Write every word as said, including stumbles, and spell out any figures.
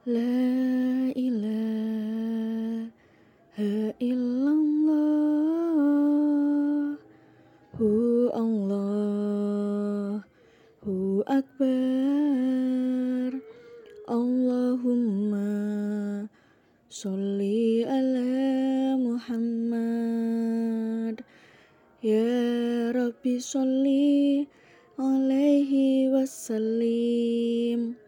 La ilaha illallah. Hu Allahu Akbar. Allahumma sholli ala Muhammad. Ya Rabbi sholli alaihi wasallim.